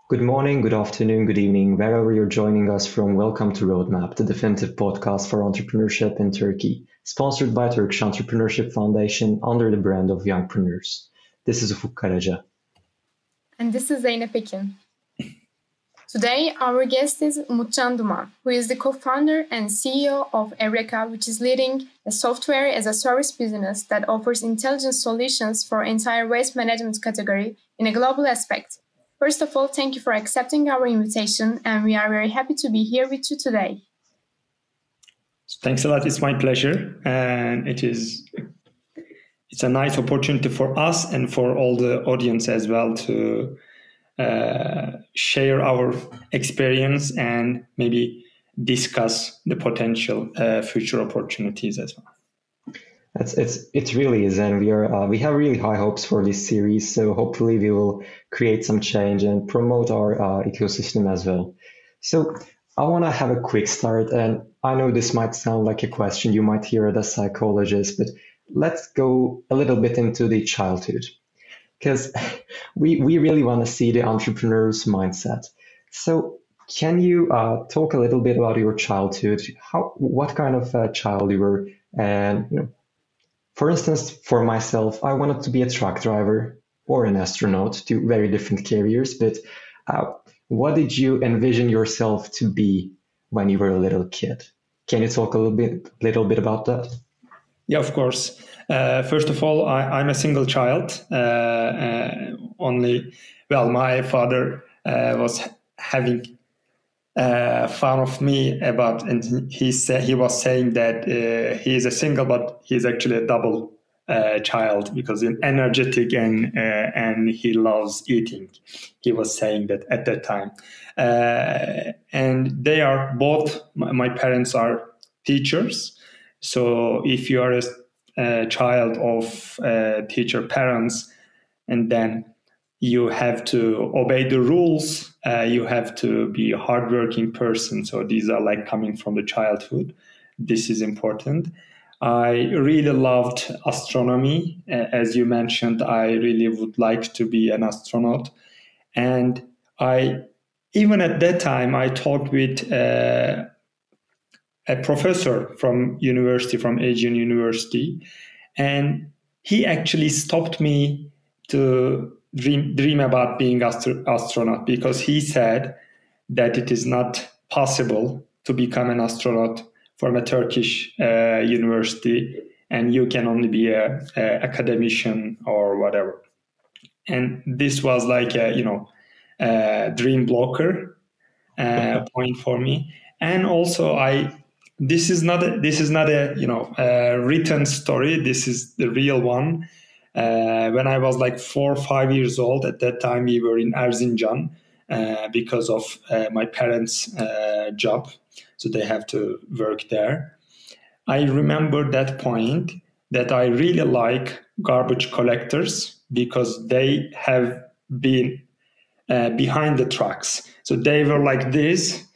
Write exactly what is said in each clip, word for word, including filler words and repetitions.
Good morning, good afternoon, good evening, wherever you're joining us from. Welcome to Roadmap, the definitive podcast for entrepreneurship in Turkey, sponsored by Turkish Entrepreneurship Foundation under the brand of Youngpreneurs. This is Ufuk Karaca. And this is Zeynep Ekin. Today, our guest is Umutcan Duman, who is the co-founder and C E O of Evreka, which is leading a software as a service business that offers intelligent solutions for entire waste management category in a global aspect. First of all, thank you for accepting our invitation, and we are very happy to be here with you today. Thanks a lot. It's my pleasure, and it is it's a nice opportunity for us and for all the audience as well to uh, share our experience and maybe discuss the potential uh, future opportunities as well. It's it's it really is, and we are uh, we have really high hopes for this series. So hopefully we will create some change and promote our uh, ecosystem as well. So I want to have a quick start, and I know this might sound like a question you might hear as a psychologist, but let's go a little bit into the childhood, because we we really want to see the entrepreneur's mindset. So can you uh, talk a little bit about your childhood? How what kind of uh, child you were, and you know. For instance, for myself, I wanted to be a truck driver or an astronaut, two very different careers. But uh, what did you envision yourself to be when you were a little kid? Can you talk a little bit, little bit about that? Yeah, of course. Uh, first of all, I, I'm a single child. Uh, uh, only, well, my father uh, was having uh, fun of me about, and he said he was saying that uh, he is a single, but he's actually a double uh, child because he's energetic and uh, and he loves eating. He was saying that at that time, uh, and they are both. My, my parents are teachers, so if you are a, a child of uh, teacher parents, and then you have to obey the rules. Uh, you have to be a hardworking person. So these are like coming from the childhood. This is important. I really loved astronomy. Uh, as you mentioned, I really would like to be an astronaut. And I, even at that time, I talked with uh, a professor from university, from Asian University, and he actually stopped me to dream dream about being astro- astronaut because he said that it is not possible to become an astronaut from a Turkish uh, university, and you can only be a, a academician or whatever. And this was like a you know a dream blocker uh, point for me. And also, I this is not a, this is not a you know a written story. This is the real one. Uh, when I was like four or five years old, at that time we were in Erzincan uh, because of uh, my parents' uh, job, so they have to work there. I remember that point that I really like garbage collectors because they have been uh, behind the trucks. So they were like this.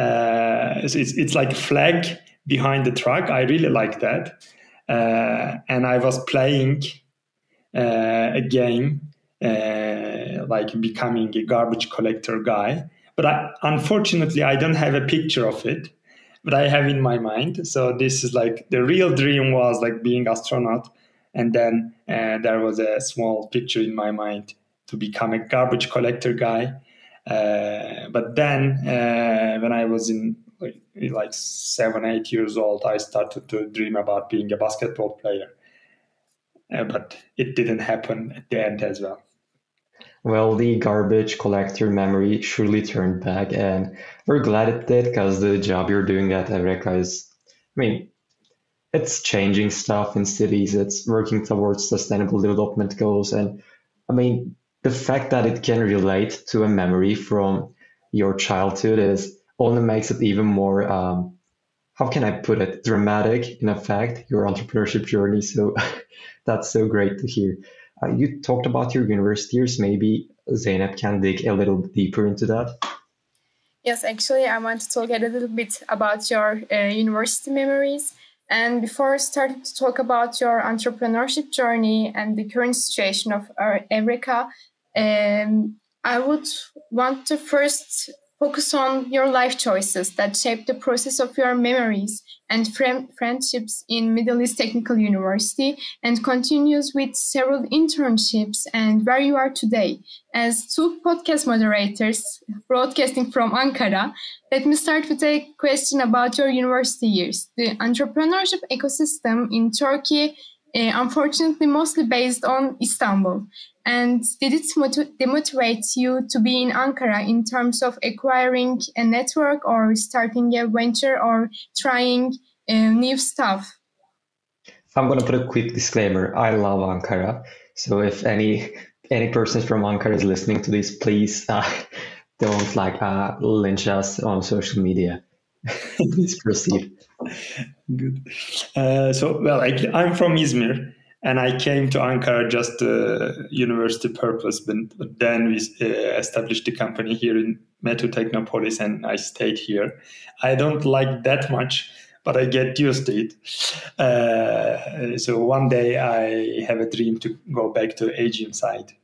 Uh, so it's it's like a flag behind the truck. I really like that, uh, and I was playing uh, a game uh, like becoming a garbage collector guy. But I, unfortunately, I don't have a picture of it, but I have in my mind. So this is like the real dream was like being astronaut, and then uh, there was a small picture in my mind to become a garbage collector guy. Uh, but then uh, when I was in like, like seven, eight years old, I started to dream about being a basketball player. Uh, but it didn't happen at the end as well. Well, the garbage collector memory surely turned back, and we're glad it did because the job you're doing at Evreka is, I mean, it's changing stuff in cities. It's working towards sustainable development goals, and I mean, the fact that it can relate to a memory from your childhood is only makes it even more, um, how can I put it, dramatic in effect, your entrepreneurship journey. So that's so great to hear. Uh, you talked about your university years. Maybe Zeynep can dig a little deeper into that. Yes, actually, I want to talk a little bit about your uh, university memories. And before starting to talk about your entrepreneurship journey and the current situation of our Evreka, um, I would want to first focus on your life choices that shape the process of your memories and friend- friendships in Middle East Technical University, and continues with several internships and where you are today. As two podcast moderators broadcasting from Ankara, let me start with a question about your university years. The entrepreneurship ecosystem in Turkey, uh, unfortunately, mostly based on Istanbul. And did it motiv- demotivate you to be in Ankara in terms of acquiring a network or starting a venture or trying uh, new stuff? I'm gonna put a quick disclaimer. I love Ankara, so if any any person from Ankara is listening to this, please uh, don't like uh, lynch us on social media. Please proceed. Good. Uh, so, well, I, I'm from Izmir, and I came to Ankara just uh, university purpose. But, but then we uh, established the company here in Metro Technopolis, and I stayed here. I don't like that much, but I get used to it. Uh, so one day I have a dream to go back to Aegean side.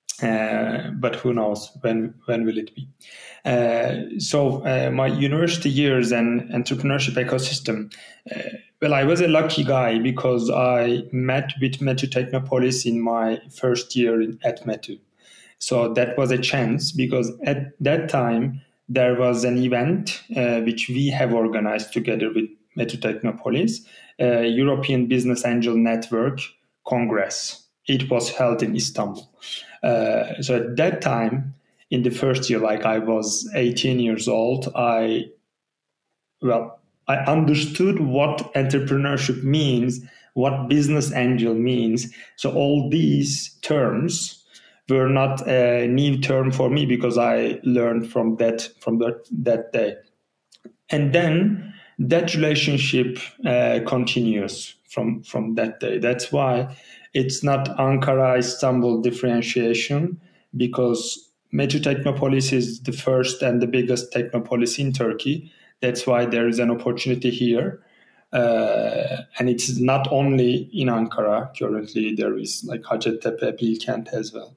Uh, but who knows when when will it be? Uh, so uh, my university years and entrepreneurship ecosystem. Uh, well, I was a lucky guy because I met with Metu Technopolis in my first year in, at Metu. So that was a chance because at that time there was an event uh, which we have organized together with Metu Technopolis, uh, European Business Angel Network Congress. It was held in Istanbul. Uh, so at that time, in the first year, like I was eighteen years old, I, well, I understood what entrepreneurship means, what business angel means. So all these terms were not a new term for me because I learned from that from that, that day. And then that relationship uh, continues from, from that day. That's why it's not Ankara-Istanbul differentiation, because Metu Technopolis is the first and the biggest technopolis in Turkey. That's why there is an opportunity here. Uh, and it's not only in Ankara. Currently, there is like Hacettepe, Bilkent as well.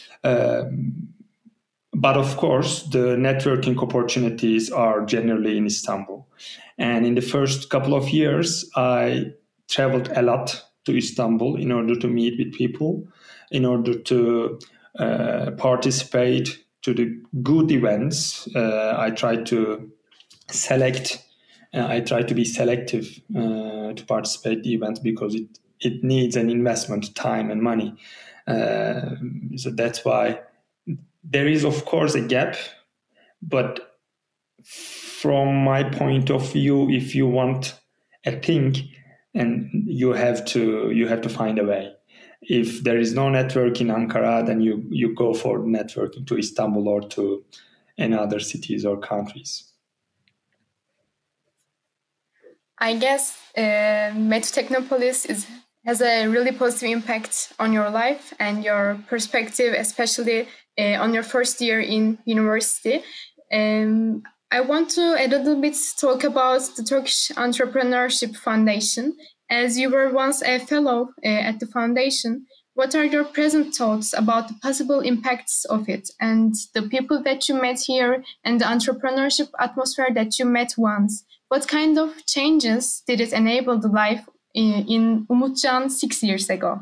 Um, But of course, the networking opportunities are generally in Istanbul. And in the first couple of years, I traveled a lot to Istanbul in order to meet with people, in order to uh, participate to the good events. Uh, I tried to select, uh, I try to be selective uh, to participate in the events because it, it needs an investment, time and money. Uh, so that's why there is, of course, a gap, but from my point of view, if you want a thing, and you have to you have to find a way. If there is no network in Ankara, then you you go for networking to Istanbul or to any other cities or countries. I guess uh, Metu Technopolis is has a really positive impact on your life and your perspective, especially uh, on your first year in university. Um, I want to a little bit talk about the Turkish Entrepreneurship Foundation. As you were once a fellow uh, at the foundation, what are your present thoughts about the possible impacts of it and the people that you met here and the entrepreneurship atmosphere that you met once? What kind of changes did it enable the life in, in Umutcan six years ago?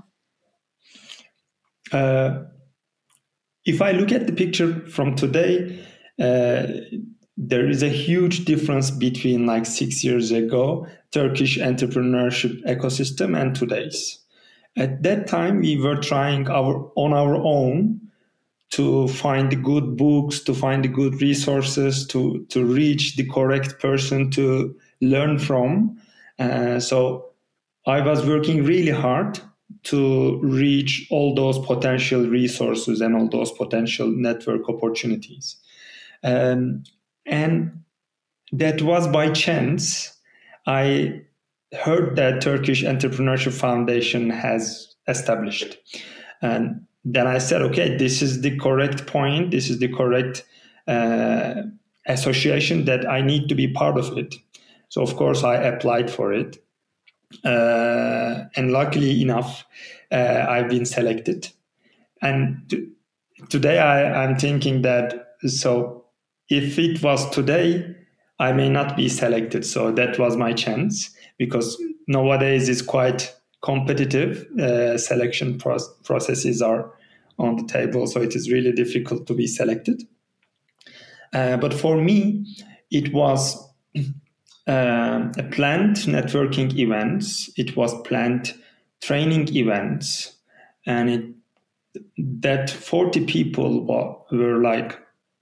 Uh, if I look at the picture from today, uh, there is a huge difference between like six years ago, Turkish entrepreneurship ecosystem and today's. At that time, we were trying our on our own to find the good books, to find the good resources, to, to reach the correct person to learn from. Uh, so I was working really hard to reach all those potential resources and all those potential network opportunities. Um, and that was by chance. I heard that Turkish Entrepreneurship Foundation has established. And then I said, okay, this is the correct point. This is the correct uh, association that I need to be part of it. So, of course, I applied for it. Uh, and luckily enough, uh, I've been selected. And t- today I, I'm thinking that so if it was today, I may not be selected. So that was my chance, because nowadays it's quite competitive. Uh, selection pro- processes are on the table, so it is really difficult to be selected. Uh, but for me, it was uh, a planned networking events. It was planned training events, and it, that forty people were, were like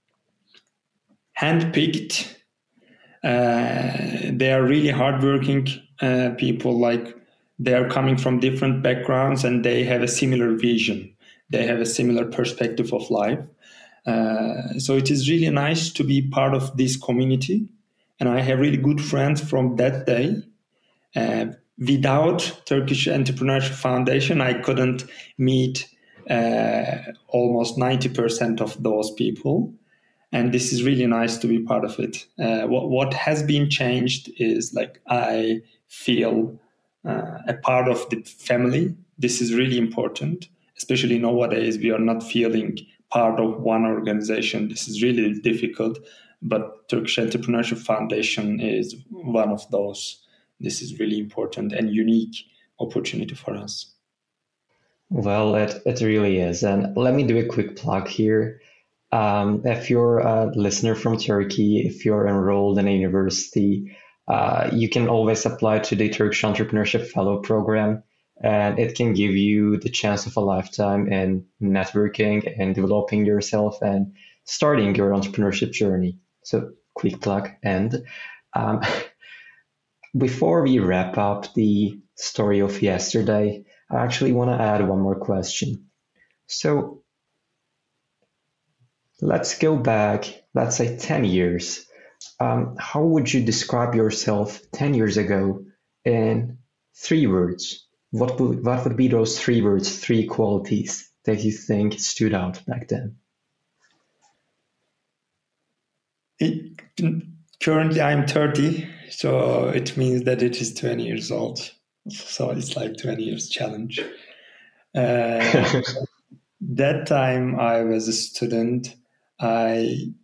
handpicked. Uh, they are really hardworking uh, people. Like, they are coming from different backgrounds, and they have a similar vision. They have a similar perspective of life. Uh, so it is really nice to be part of this community. And I have really good friends from that day. Uh, without Turkish Entrepreneurship Foundation, I couldn't meet uh, almost ninety percent of those people. And this is really nice to be part of it. Uh, what, what has been changed is, like, I feel uh, a part of the family. This is really important, especially nowadays. We are not feeling part of one organization. This is really difficult, but Turkish Entrepreneurship Foundation is one of those. This is really important and unique opportunity for us. Well, it, it really is. And let me do a quick plug here. Um, if you're a listener from Turkey, if you're enrolled in a university, uh, you can always apply to the Turkish Entrepreneurship Fellow Program, and it can give you the chance of a lifetime in networking and developing yourself and starting your entrepreneurship journey. So, quick plug. And um, before we wrap up the story of yesterday, I actually want to add one more question. So, let's go back, let's say ten years. Um, how would you describe yourself ten years ago in three words? What would, what would be those three words, three qualities that you think stood out back then? It, currently, I'm thirty, so it means that it is twenty years old. So it's like twenty years challenge. Uh, that time I was a student. I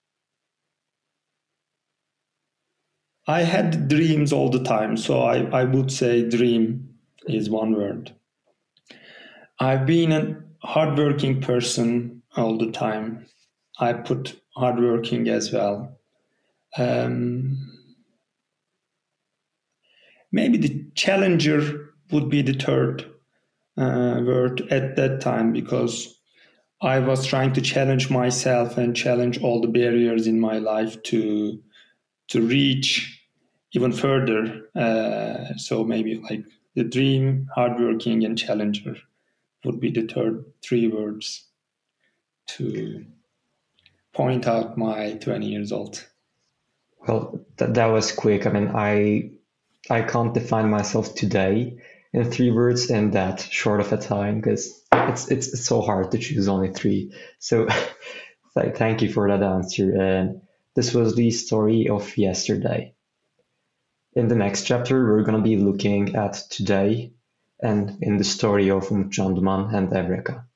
I had dreams all the time, so I, I would say dream is one word. I've been a hardworking person all the time. I put hardworking as well. Um, maybe the challenger would be the third uh, word at that time, because I was trying to challenge myself and challenge all the barriers in my life to to reach even further. Uh, so maybe like the dream, hardworking, and challenger would be the third three words to point out my twenty years old. Well, that, that was quick. I mean, I I can't define myself today in three words in that short of a time, because it's, it's it's so hard to choose only three. So thank you for that answer. And this was the story of yesterday. In the next chapter, we're going to be looking at today and in the story of Umutcan Duman and Evreka.